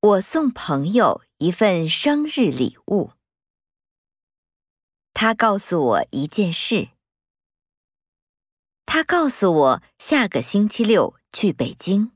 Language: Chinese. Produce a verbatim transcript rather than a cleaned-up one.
我送朋友一份生日礼物。他告诉我一件事。他告诉我下个星期六去北京。